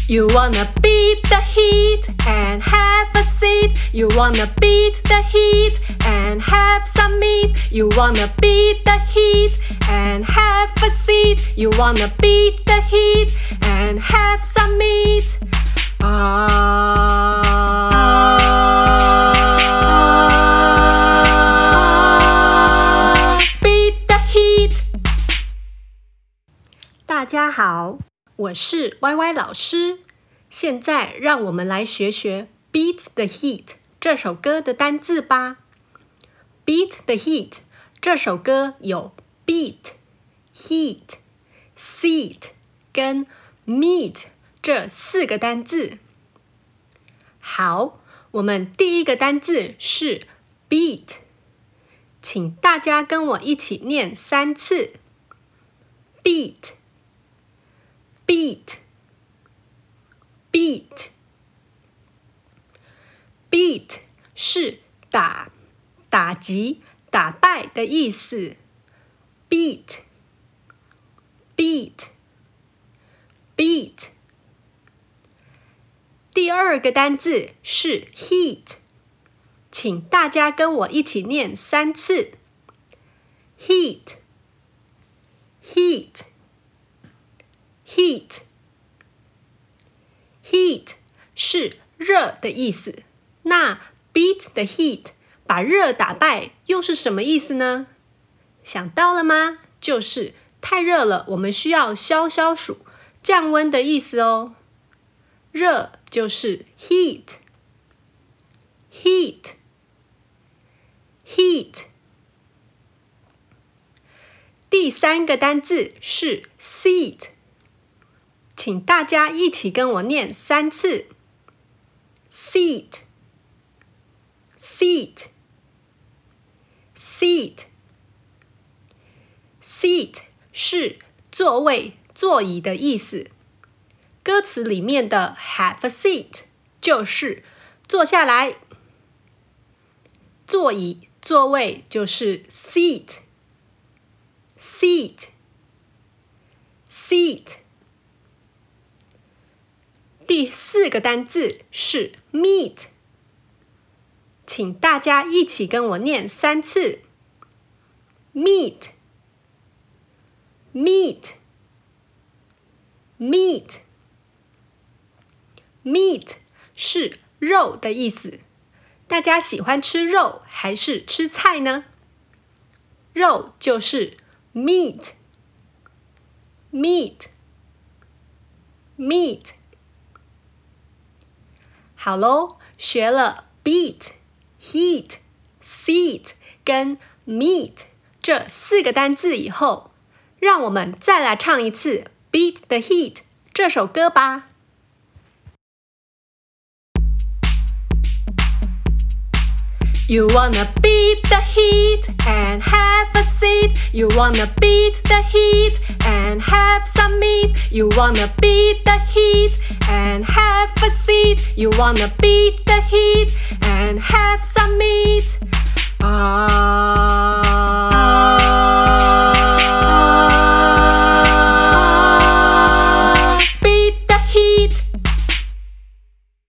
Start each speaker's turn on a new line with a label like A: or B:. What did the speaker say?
A: You wanna beat the heat and have a seat. You wanna beat the heat and have some meat. You wanna beat the heat and have a seat. You wanna beat the heat and have some meat. Beat the heat. 大家好，我是 YY 老師。现在让我們來學學 Beat the Heat 這首歌的單字吧。Beat the Heat 這首歌有 Beat、Heat、Seat 跟 Meat 這4個單字。好，我們第一個單字是 Beat， 請大家跟我一起念3次。Beat。Beat 是打擊、打敗的意思。Beat。第二個單字是 Heat， 請大家跟我一起念3次。Heat。Heat 是熱的意思，那 beat the heat 把熱打敗又是什麼意思呢？想到了嗎？就是太熱了，我們需要消暑、降溫的意思哦。熱就是 heat。第3個單字是 seat， 請大家一起跟我念3次。Seat。是座位、座椅的意思。歌詞裡面的 have a seat 就是坐下來，座椅、座位就是 seat。第4個單字是 meat， 請大家一起跟我念3次。Meat 是肉的意思。大家喜歡吃肉還是吃菜呢？肉就是 meat。好咯，學了 beat、heat、seat 跟 meat 這4個單字以後，讓我們再來唱一次 Beat the Heat 這首歌吧。You wanna beat the heat and have a seat. You wanna beat the heat and have some meat. You wanna beat the heat and have a seat. You wanna beat the heat